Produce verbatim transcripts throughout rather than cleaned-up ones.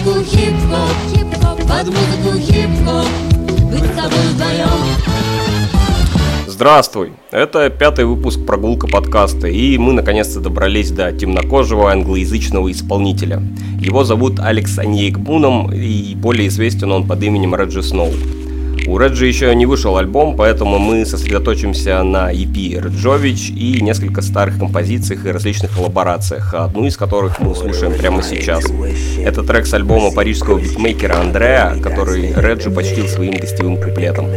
музыку хип-хоп, под музыку хип-хоп, быть с тобой вдвоем. Здравствуй! Это пятый выпуск «Прогулка подкаста», и мы наконец-то добрались до темнокожего англоязычного исполнителя. Его зовут Алекс Оньеигбуном, и более известен он под именем Реджи Сноу. У Реджи еще не вышел альбом, поэтому мы сосредоточимся на и пи «Реджович» и несколько старых композициях и различных коллаборациях, одну из которых мы слушаем прямо сейчас. Это трек с альбома парижского битмейкера Андреа, который Реджи почтил своим гостевым куплетом.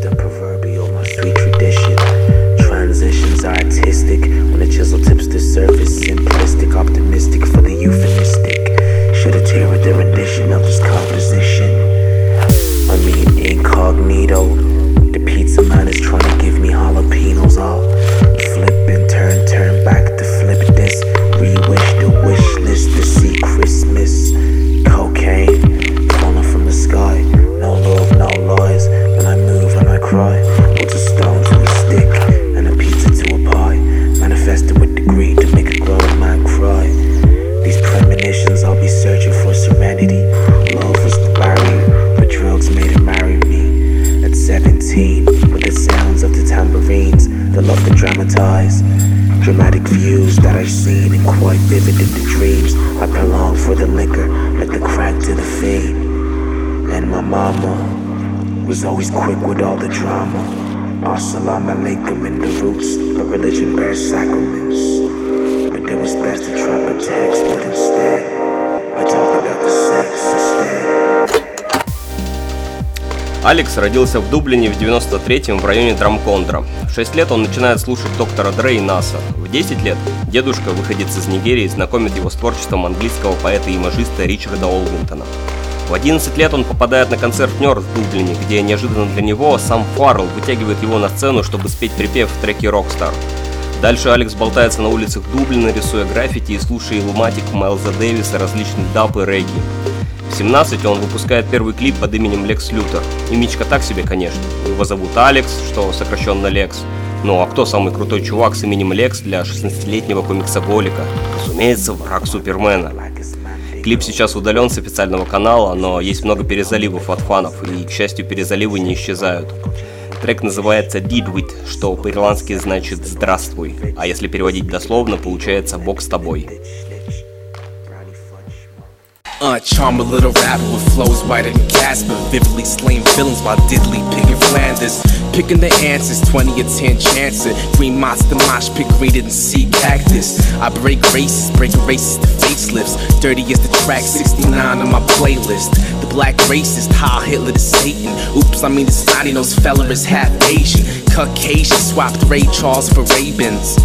Transitions are artistic when the chisel tips the surface. Simplistic, optimistic for the euphemistic. Should have tailored the rendition of this composition. I mean incognito. The pizza man is trying to give me jalapenos. I'll flip and turn, turn back to flip this. Re-wish the wish list to see Christmas. Cocaine falling from the sky. No love, no lies. When I move and I cry. What's a stone to a stick? Manifested with the greed to make a grown man cry. These premonitions, I'll be searching for serenity. Love was the barrier, but drugs made her marry me. At seventeen, with the sounds of the tambourines, the love to dramatize. Dramatic views that I've seen and quite vivid in the dreams. I prolong for the liquor, like the crack to the fiend. And my mama was always quick with all the drama. As-salamu alaikum in the roots, but religion bears sacraments. But it was best to try to text, but instead I talk about the sex instead. Алекс родился в Дублине в девяносто третьем в районе Драмкондра. В шесть лет он начинает слушать доктора Дре и Наса. В десять лет дедушка, выходец из Нигерии, знакомит его с творчеством английского поэта и имажиста Ричарда Олвинтона. В одиннадцать лет он попадает на концерт Нёрд в Дублине, где неожиданно для него сам Фаррелл вытягивает его на сцену, чтобы спеть припев в треке «Rockstar». Дальше Алекс болтается на улицах Дублина, рисуя граффити и слушая илматик Майлза Дэвиса, различных даб и регги. В семнадцать он выпускает первый клип под именем Лекс Лютер. Имечко так себе, конечно. Его зовут Алекс, что сокращенно Лекс. Ну а кто самый крутой чувак с именем Лекс для шестнадцатилетнего комиксоголика? Разумеется, враг Супермена. Клип сейчас удален с официального канала, но есть много перезаливов от фанов, и, к счастью, перезаливы не исчезают. Трек называется «Did With», что по-ирландски значит «здравствуй», а если переводить дословно, получается «Бог с тобой». Uh, charm a little rapper with flows whiter than Casper, vividly slaying villains while diddly picking Flanders. Picking the answers, twenty or ten chancer. Green monster mosh pit greener than sea cactus. I break races, breaking races to facelifts. Dirty as the track sixty-nine on my playlist. The black racist, Heil Hitler to Satan. Oops, I mean the snotty nose fella is half Asian. Caucasian, swapped Ray Charles for Ray-Bans.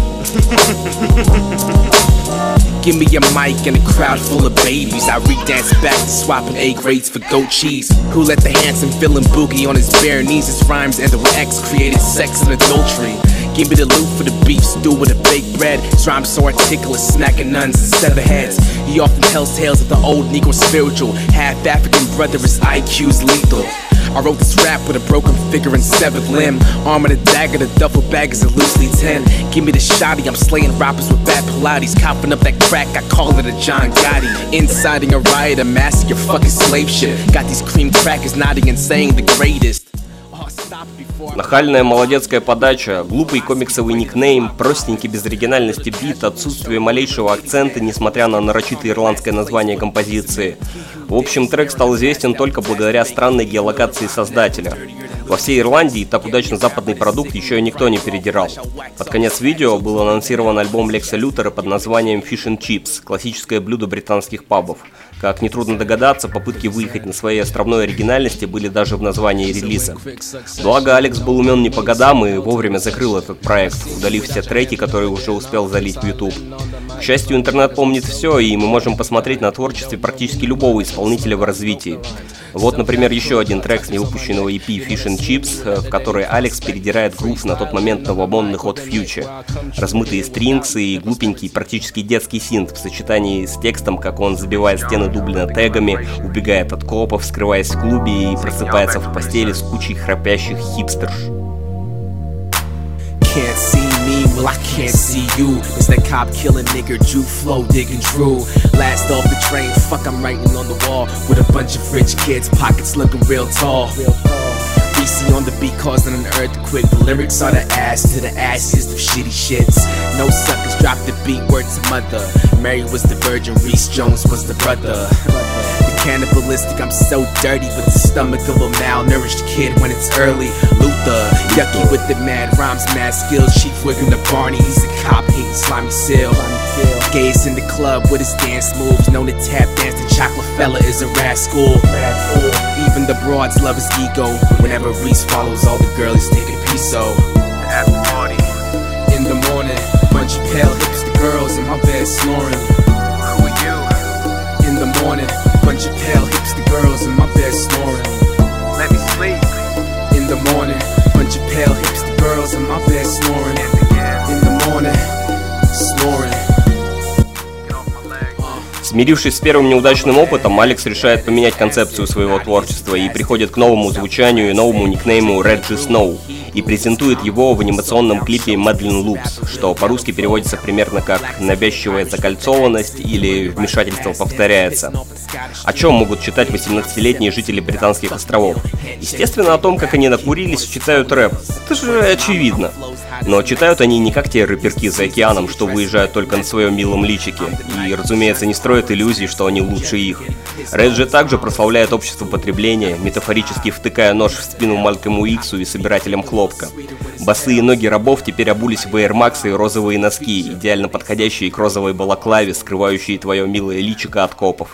Give me a mic and a crowd full of babies. I re-dance back to swapping A grades for goat cheese. Who let the handsome villain boogie on his bare knees? His rhymes and the X created sex and adultery. Give me the loot for the beef stew with a baked bread. His rhymes so articulate, smacking nuns and sever heads. He often tells tales of the old Negro spiritual. Half African brother, his I Q's lethal. I wrote this rap with a broken figure and severed limb. Arm and a dagger, the duffel bag is a loosely ten. Give me the shotty, I'm slaying rappers with bad Pilates. Copping up that crack, I call it a John Gotti. Inciting a riot, a massacre, fucking slave ship. Got these cream crackers nodding and saying the greatest. Нахальная молодецкая подача, глупый комиксовый никнейм, простенький без оригинальности бит, отсутствие малейшего акцента, несмотря на нарочитое ирландское название композиции. В общем, трек стал известен только благодаря странной геолокации создателя. Во всей Ирландии так удачно западный продукт еще и никто не передирал. Под конец видео был анонсирован альбом Лекса Лютера под названием Fish and Chips, классическое блюдо британских пабов. Как нетрудно догадаться, попытки выехать на своей островной оригинальности были даже в названии релиза. Благо, Алекс был умен не по годам и вовремя закрыл этот проект, удалив все треки, которые уже успел залить в YouTube. К счастью, интернет помнит все, и мы можем посмотреть на творчестве практически любого исполнителя в развитии. Вот, например, еще один трек с невыпущенного и пи Fish and Chips, в который Алекс передирает грув на тот момент новомодный ход Future. Размытые стрингсы и глупенький, практически детский синт в сочетании с текстом, как он забивает стены Дублина тегами, убегает от копов, скрываясь в клубе и просыпается в постели с кучей храпящих хипстерш. can't see me, well I can't see you. It's that cop killing nigga, Drew Flow digging Drew. Last off the train, fuck I'm writing on the wall with a bunch of rich kids, pockets looking real tall. B C on the beat causing an earthquake. The lyrics are the ass to the ashes of shitty shits. No suckers drop the beat, word to mother. Mary was the virgin, Reese Jones was the brother. The cannibalistic, I'm so dirty with the stomach of a malnourished kid when it's early. Luther, yucky with the mad rhymes, mad skills. Chief Wiggum the Barney, he's a cop hating slimy seal. Gaze in the club with his dance moves, known to tap dance. The chocolate fella is a rascal. Even the broads love his ego. Whenever Reese follows, all the girlies take a piece. So after party in the morning, bunch of pale hipster girls in my bed snoring. Who are you? In the morning, bunch of pale hipster girls in my bed snoring. Let me sleep. In the morning, bunch of pale hipster girls in my bed snoring. In the morning, snoring. Смирившись с первым неудачным опытом, Алекс решает поменять концепцию своего творчества и приходит к новому звучанию и новому никнейму Reggie Snow и презентует его в анимационном клипе Madeline Loops, что по-русски переводится примерно как «навязчивая закольцованность» или «вмешательство повторяется». О чем могут читать восемнадцатилетние жители Британских островов? Естественно, о том, как они накурились, читают рэп. Это же очевидно. Но читают они не как те рэперки за океаном, что выезжают только на своем милом личике, и, разумеется, не строят иллюзий, что они лучше их. Реджи также прославляет общество потребления, метафорически втыкая нож в спину Малькольму Иксу и собирателям хлопка. Босые ноги рабов теперь обулись в Air Max и розовые носки, идеально подходящие к розовой балаклаве, скрывающие твое милое личико от копов.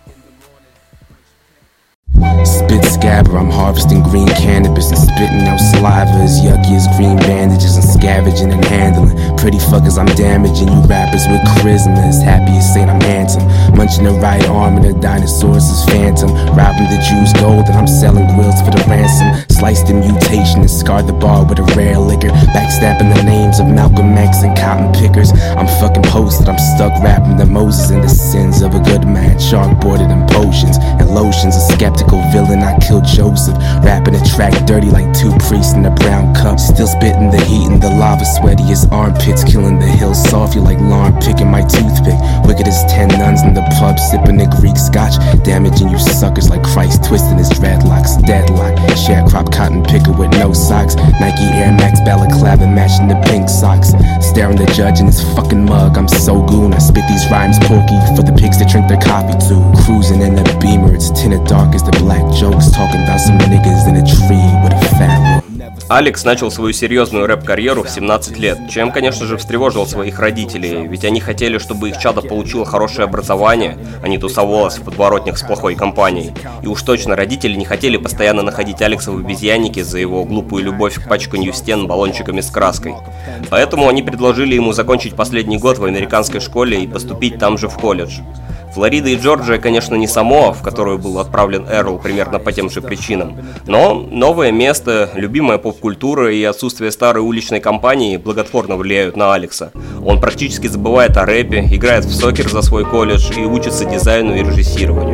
Spit scabber, I'm harvesting green cannabis and spitting out saliva as yucky as green bandages and scavenging and handling. Pretty fuckers, I'm damaging you rappers with charisma. As happy as Saint I'm handsome. Munching the right arm and the dinosaurs is phantom. Robbing the Jews gold and I'm selling grills for the ransom. Sliced the mutation and scarred the bar with a rare liquor. Backstabbing the names of Malcolm X and cotton pickers. I'm fucking posted, I'm stuck rapping the Moses and the sins of a good man. Chalkboarded and potions and lotions. A skeptical villain, I killed Joseph. Rapping a track dirty like two priests in a brown cup. Still spitting the heat and the lava sweaty as armpits. Killing the hill softly like lawn picking my toothpick. Wicked as ten nuns in the pub sipping the Greek scotch. Damaging you suckers like Christ twisting his dreadlocks. Deadlock, sharecrop cotton picker with no socks. Nike Air Max balaclava matching the pink socks. Staring the judge in his fucking mug, I'm so goon. I spit these rhymes porky for the pigs to drink their coffee too. Cruising in the Beamer, it's tinted dark as the black jokes. Talking about some niggas in a tree with a fat room. Алекс начал свою серьезную рэп-карьеру в семнадцать лет, чем, конечно же, встревожил своих родителей, ведь они хотели, чтобы их чадо получило хорошее образование, а не тусовалось в подворотнях с плохой компанией. И уж точно родители не хотели постоянно находить Алекса в обезьяннике за его глупую любовь к пачканью стен баллончиками с краской. Поэтому они предложили ему закончить последний год в американской школе и поступить там же в колледж. Флорида и Джорджия, конечно, не Самоа, в которую был отправлен Эрл примерно по тем же причинам, но новое место, любимая поп-культура и отсутствие старой уличной компании благотворно влияют на Алекса. Он практически забывает о рэпе, играет в сокер за свой колледж и учится дизайну и режиссированию.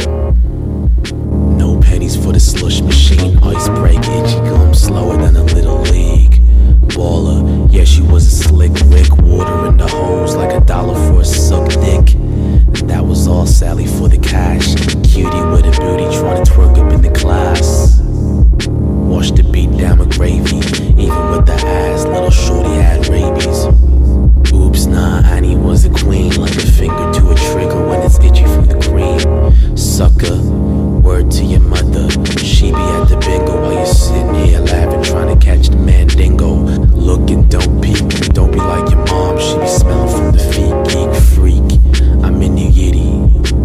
No pennies for the slush machine, ice break, itchy gum, slower than a little league. Baller, yeah, she was a slick Rick, water in the hose like a dollar for a suck dick. That was all Sally for the cash. Cutie with a booty trying to twerk up in the class. Wash the beat down with gravy. Even with the ass, little shorty had rabies. Oops, nah, Annie was a queen. Like a finger to a trigger when it's itchy from the cream. Sucker, word to your mother. She be at the bingo while you're sitting here laughing, trying to catch the mandingo. Look and don't peek, don't be like your mom. She be smelling from the feet, geek freak. I'm in New Yiddy,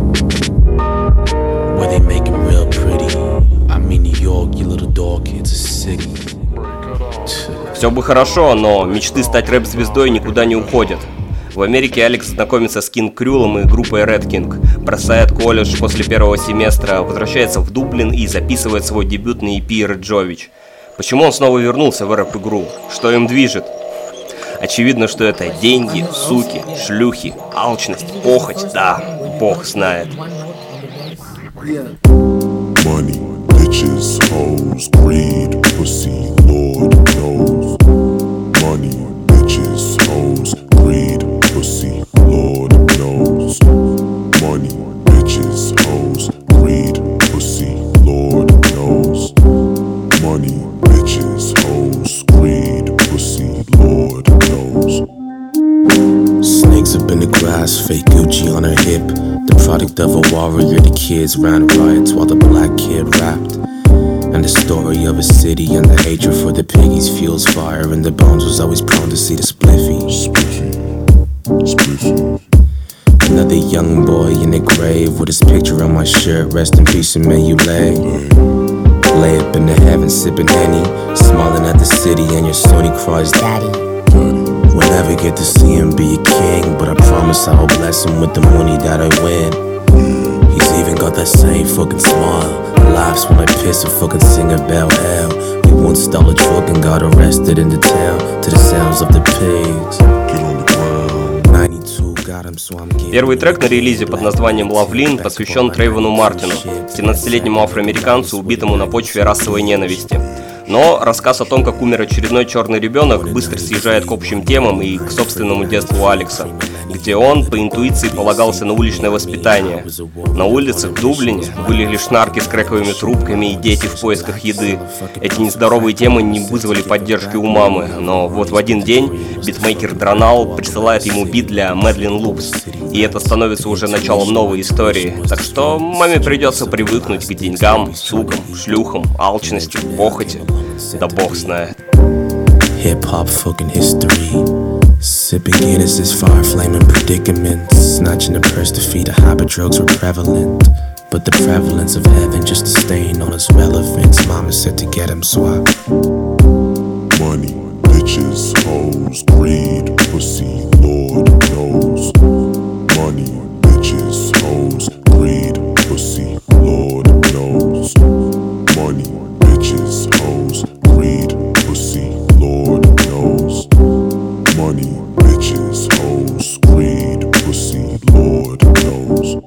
where they make him real pretty. I'm in New York, you little dog, it's a city. Все бы хорошо, но мечты стать рэп-звездой никуда не уходят. В Америке Алекс знакомится с Кинг Крюлом и группой Red King, бросает колледж после первого семестра, возвращается в Дублин и записывает свой дебютный и пи «Реджович». Почему он снова вернулся в рэп-игру? Что им движет? Очевидно, что это деньги, суки, шлюхи, алчность, похоть, да, бог знает. Money, bitches, hoes, greed, pussy, Lord knows. Money, bitches, hoes, greed, pussy, Lord knows. Money, bitches, hoes, greed, pussy, Lord knows. Snakes up in the grass, fake Gucci on her hip. The product of a warrior, the kids ran riots while the black kid rapped. And the story of a city and the hatred for the piggies fuels fire. And the bones was always prone to see the spliffy. Spliffy, spliffy. Another young boy in the grave with his picture on my shirt. Rest in peace and may you lay. Lay up in the heavens sipping Henny, smiling at the city and your Sony cries daddy. We'll never get to see him be a king, but I promise I will bless him with the money that I win. He's even got that same fucking smile, laughs when I piss and fucking sing about hell. We once stole a truck and got arrested in the town to the sounds of the pigs. Get on the ground. ninety-two got him, so I'm getting. Первый трек на релизе под названием «Лавлин» посвящен Трейвону Мартину, семнадцатилетнему афроамериканцу, убитому на почве расовой ненависти. Но рассказ о том, как умер очередной черный ребенок, быстро съезжает к общим темам и к собственному детству Алекса, где он по интуиции полагался на уличное воспитание. На улицах в Дублине были лишь нарки с крэковыми трубками и дети в поисках еды. Эти нездоровые темы не вызвали поддержки у мамы, но вот в один день битмейкер Дронал присылает ему бит для Мэдлин Лупс, и это становится уже началом новой истории. Так что маме придется привыкнуть к деньгам, сукам, шлюхам, алчности, похоти. Да бог знает. Hip-hop fucking history. Sipping Guinnesses, fire flaming predicaments. Snatching the purse to feed a habit, drugs were prevalent. But the prevalence of heaven just a stain on its relevance. Mama said to get him swapped. Money, bitches, hoes, greed, pussy, Lord knows. Money, bitches, hoes, greed, pussy, Lord knows. Money, bitches, hoes, greed, pussy, Lord knows. Money, bitches, hoes, greed, pussy, Lord knows.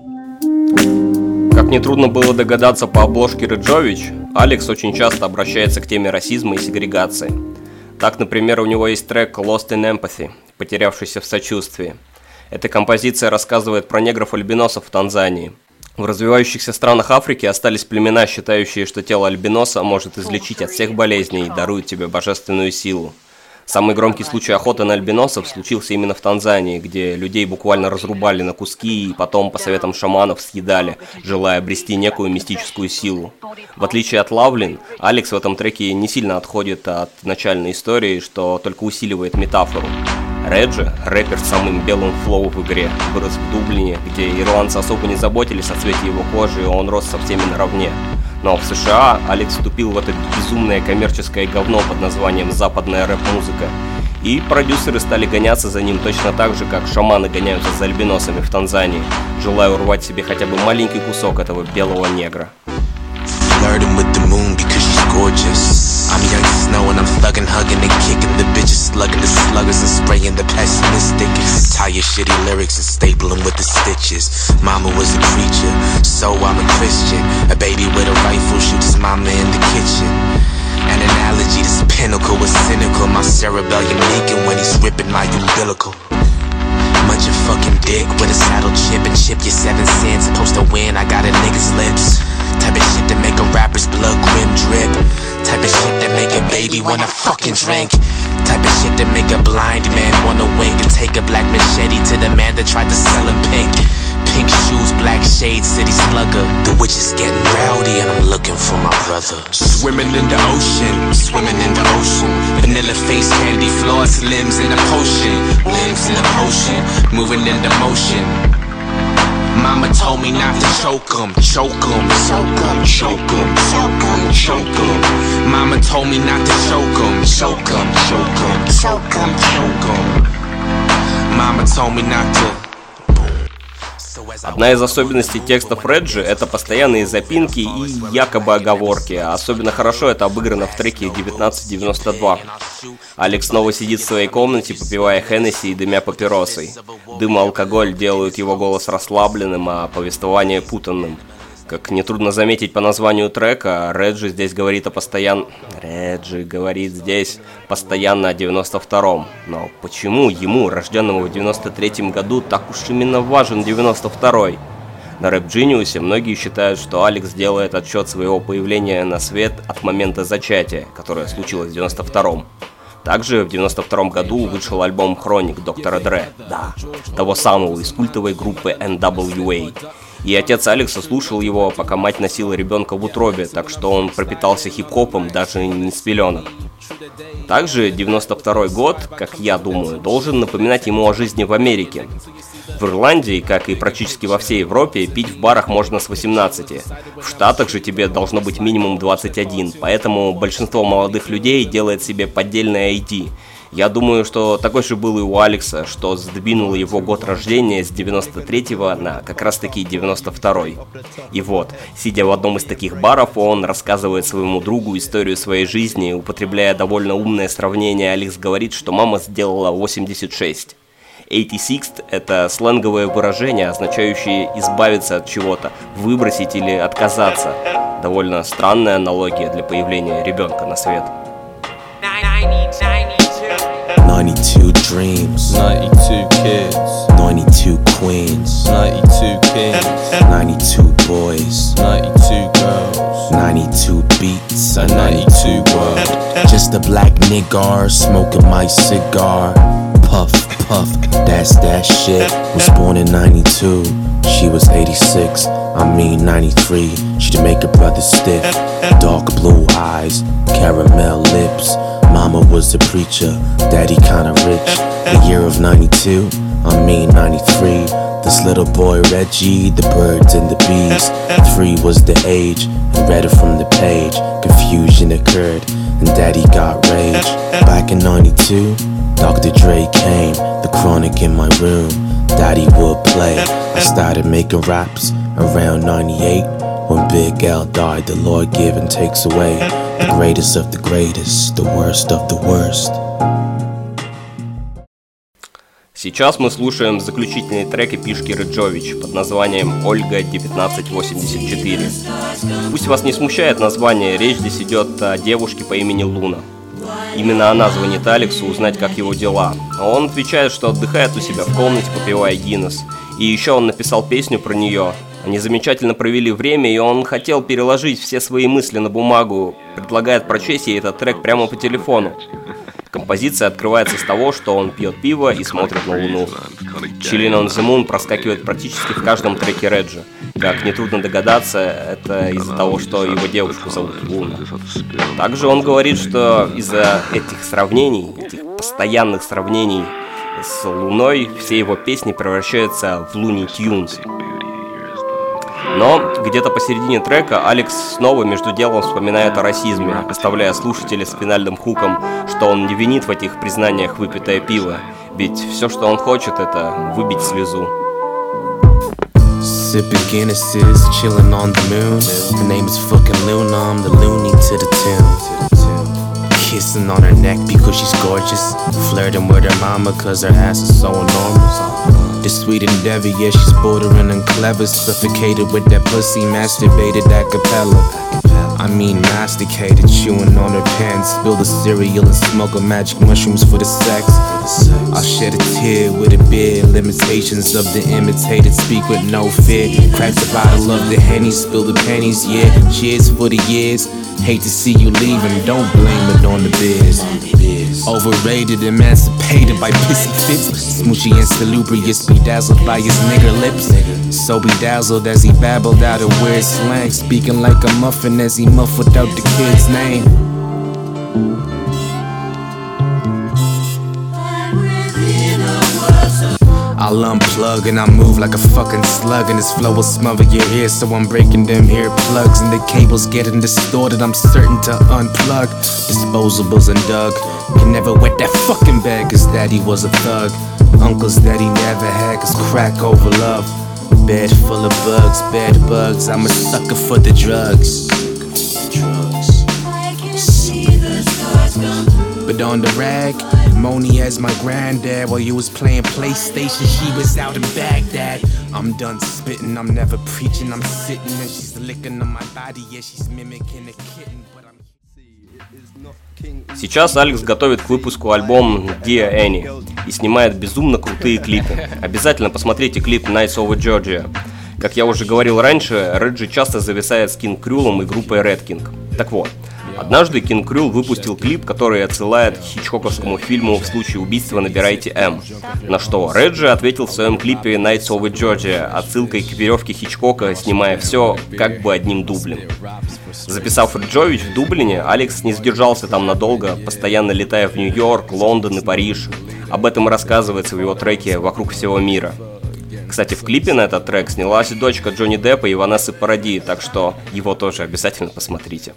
Как нетрудно было догадаться по обложке Реджович, Алекс очень часто обращается к теме расизма и сегрегации. Так, например, у него есть трек «Lost in Empathy», «Потерявшийся в сочувствии». Эта композиция рассказывает про негров-альбиносов в Танзании. В развивающихся странах Африки остались племена, считающие, что тело альбиноса может излечить от всех болезней и дарует тебе божественную силу. Самый громкий случай охоты на альбиносов случился именно в Танзании, где людей буквально разрубали на куски и потом, по советам шаманов, съедали, желая обрести некую мистическую силу. В отличие от Лавлин, Алекс в этом треке не сильно отходит от начальной истории, что только усиливает метафору. Реджи, рэпер с самым белым флоу в игре, вырос в Дублине, где ирландцы особо не заботились о цвете его кожи, и он рос со всеми наравне. Но в США Алекс вступил в это безумное коммерческое говно под названием «западная рэп-музыка». И продюсеры стали гоняться за ним точно так же, как шаманы гоняются за альбиносами в Танзании, желая урвать себе хотя бы маленький кусок этого белого негра. I'm young as snow and I'm thuggin', hugging and kicking the bitches, slugging the sluggers and spraying the pessimistic. Tie your shitty lyrics and staple them with the stitches. Mama was a preacher, so I'm a Christian. A baby with a rifle shoots his mama in the kitchen. An analogy, this pinnacle was cynical. My cerebellum leaking when he's ripping my umbilical. Munch a fucking dick with a saddle chip and chip your seven cents. Supposed to win, I got a nigga's lips. Type of shit that make a rapper's blood grim drip. Type of shit that make a baby wanna fucking drink. Type of shit that make a blind man wanna wink and take a black machete to the man that tried to sell him pink. Pink shoes, black shades, city slugger. The witch is getting rowdy and I'm looking for my brother. Swimming in the ocean, swimming in the ocean. Vanilla face, candy floss, limbs in a potion. Limbs in a potion, moving in the motion. Mama told me not to choke 'em, choke 'em, choke 'em, choke 'em, choke 'em, choke 'em. Mama told me not to choke 'em, choke 'em, choke 'em, choke 'em, choke 'em. Mama told me not to. Одна из особенностей текстов Реджи — это постоянные запинки и якобы оговорки. Особенно хорошо это обыграно в треке девятнадцать девяносто два. Алекс снова сидит в своей комнате, попивая Хеннесси и дымя папиросой. Дым и алкоголь делают его голос расслабленным, а повествование путанным. Как нетрудно заметить по названию трека, Реджи здесь говорит о постоян... Реджи говорит здесь постоянно о девяносто втором. Но почему ему, рожденному в девяносто третьем году, так уж именно важен девяносто второй? На Rap Genius многие считают, что Алекс делает отсчет своего появления на свет от момента зачатия, которое случилось в девяносто втором. Также в девяносто втором году вышел альбом Хроник доктора Dre, да, того самого из культовой группы эн дабл ю эй. И отец Алекса слушал его, пока мать носила ребенка в утробе, так что он пропитался хип-хопом даже не с пеленок. Также девяносто второй год, как я думаю, должен напоминать ему о жизни в Америке. В Ирландии, как и практически во всей Европе, пить в барах можно с восемнадцати. В Штатах же тебе должно быть минимум двадцать один, поэтому большинство молодых людей делает себе поддельное ай ди. Я думаю, что такой же был и у Алекса, что сдвинуло его год рождения с девяносто третьего на как раз таки девяносто второй. И вот, сидя в одном из таких баров, он рассказывает своему другу историю своей жизни, употребляя довольно умное сравнение. Алекс говорит, что мама сделала восемьдесят шесть. восемьдесят шесть – это сленговое выражение, означающее избавиться от чего-то, выбросить или отказаться. Довольно странная аналогия для появления ребенка на свет. ninety-two dreams, ninety-two kids, ninety-two queens, ninety-two kings, ninety-two boys, ninety-two girls, ninety-two beats, a ninety-two world. Just a black nigger smoking my cigar. Puff, puff, that's that shit. Was born in ninety-two, she was eighty-six, I mean ninety-three. She'd make her brother stiff. Dark blue eyes, caramel lips. Mama was a preacher, daddy kinda rich. The year of ninety-two, I mean ninety-three. This little boy Reggie, the birds and the bees. Three was the age, and read it from the page. Confusion occurred, and daddy got rage. Back in ninety-two, Doctor Dre came, the chronic in my room. Daddy would play, I started making raps around ninety-eight. When Big L died, the Lord give and takes away. The greatest of the greatest, the worst of the worst. Сейчас мы слушаем заключительный трек эпишки Реджович под названием «Ольга девятнадцать восемьдесят четыре». Пусть вас не смущает название, речь здесь идет о девушке по имени Луна. Именно она звонит Алексу узнать, как его дела. А он отвечает, что отдыхает у себя в комнате, попивая Гиннес. И еще он написал песню про нее. Они замечательно провели время, и он хотел переложить все свои мысли на бумагу. Предлагает прочесть ей этот трек прямо по телефону. Композиция открывается с того, что он пьет пиво и смотрит на Луну. Chillin' on the Moon проскакивает практически в каждом треке Реджи. Как нетрудно догадаться, это из-за того, что его девушку зовут Луна. Также он говорит, что из-за этих сравнений, этих постоянных сравнений с Луной, все его песни превращаются в Looney Tunes. Но где-то посередине трека Алекс снова между делом вспоминает о расизме, оставляя слушателя с финальным хуком, что он не винит в этих признаниях выпитое пиво, ведь все, что он хочет, это выбить слезу. Sipping Guinnesses, chillin' on the moon. Her name is fucking Luna, I'm the loony to the tune. Kissing on her neck because she's gorgeous. Flirting with her mama cause her ass is so enormous. The sweet endeavor, yeah, she's bordering and clever. Suffocated with that pussy, masturbated a cappella. I mean masticated, chewing on her pants. Spill the cereal and smoke a magic mushrooms for the sex. I'll shed a tear with a beer. Limitations of the imitated, speak with no fear. Crack the bottle of the Henny, spill the pennies, yeah. Cheers for the years. Hate to see you leaving, don't blame it on the beers. Overrated, emancipated by pissy fits. Smoochy and salubrious, bedazzled by his nigger lips. So bedazzled as he babbled out a weird slang. Speaking like a muffin as he muffled out the kid's name. I'll unplug and I move like a fucking slug, and this flow will smother your ears, so I'm breaking them earplugs and the cables getting distorted. I'm certain to unplug. Disposables and Doug can never wet that fucking bag, cause daddy was a thug. Uncles that he never had, cause crack over love. Bed full of bugs, bed bugs. I'm a sucker for the drugs. But on the rag, Moni as my granddad. While you was playing PlayStation, she was out in Baghdad. I'm done spitting, I'm never preaching. I'm sitting and she's licking on my body. Yeah, she's mimicking a kitten, but I'm... Сейчас Алекс готовит к выпуску альбом Dear Annie и снимает безумно крутые клипы. Обязательно посмотрите клип Nights Over Georgia. Как я уже говорил раньше, Реджи часто зависает с Кинг Крюлом и группой Red King. Так вот, однажды Кинг Крюл выпустил клип, который отсылает к хичкоковскому фильму «В случае убийства набирайте М», на что Реджи ответил в своем клипе «Nights over Georgia» отсылкой к веревке Хичкока, снимая все как бы одним дублем. Записав Риджович в Дублине, Алекс не задержался там надолго, постоянно летая в Нью-Йорк, Лондон и Париж. Об этом и рассказывается в его треке «Вокруг всего мира». Кстати, в клипе на этот трек снялась дочка Джонни Деппа и Ванессы Паради, так что его тоже обязательно посмотрите.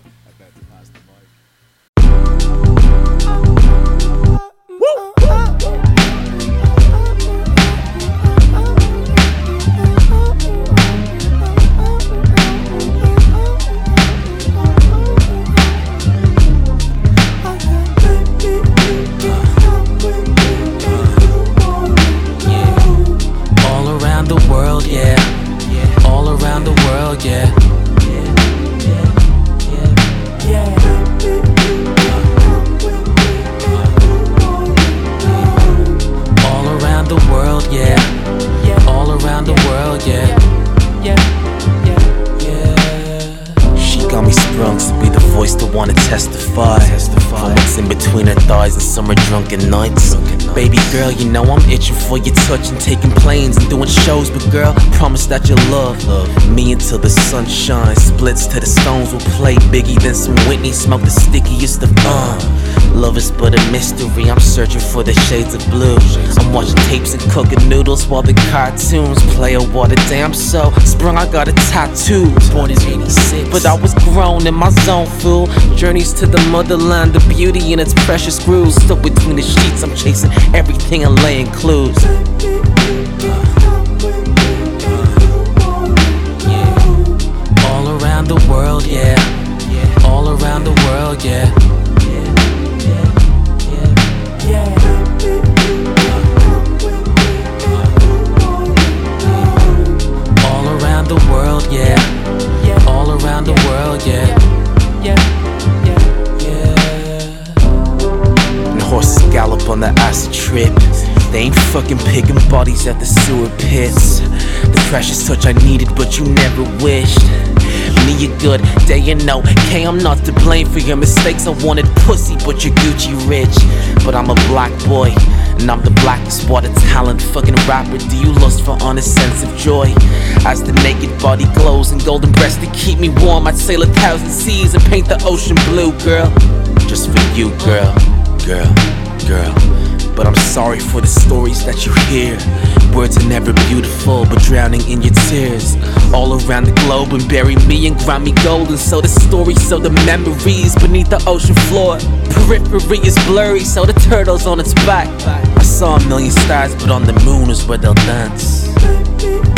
Summer drunken nights. Baby girl, you know I'm itching for your touch and taking planes and doing shows. But girl, promise that you'll love, love me until the sun shines. Splits to the stones will play Biggie, then some Whitney. Smoke the stickiest of uh. Love is but a mystery. I'm searching for the shades of blue. I'm watching tapes and cooking noodles while the cartoons play. Oh, what a damn so sprung. I got a tattoo. Born in eighty-six, but I was grown in my zone, fool. Journeys to the motherland, the beauty in its precious grooves. Stuck between the sheets, I'm chasing everything and laying clues. All around the world, yeah. All around the world, yeah. All around the world, yeah. All around the world, yeah. And horses gallop on the acid trip. They ain't fucking picking bodies at the sewer pits. The precious touch I needed, but you never wished me a good day and no. Okay, I'm not to blame for your mistakes. I wanted pussy, but you're Gucci rich. But I'm a black boy, and I'm the blackest water talent fucking rapper. Do you lust for honest sense of joy? As the naked body glows and golden breasts to keep me warm, I'd sail a thousand seas and paint the ocean blue, girl. Just for you, girl, girl, girl. But I'm sorry for the stories that you hear. Words are never beautiful, but drowning in your tears. All around the globe and bury me in grimy gold. And so the stories, so the memories beneath the ocean floor. Periphery is blurry, so the turtle's on its back. I saw a million stars, but on the moon is where they'll dance.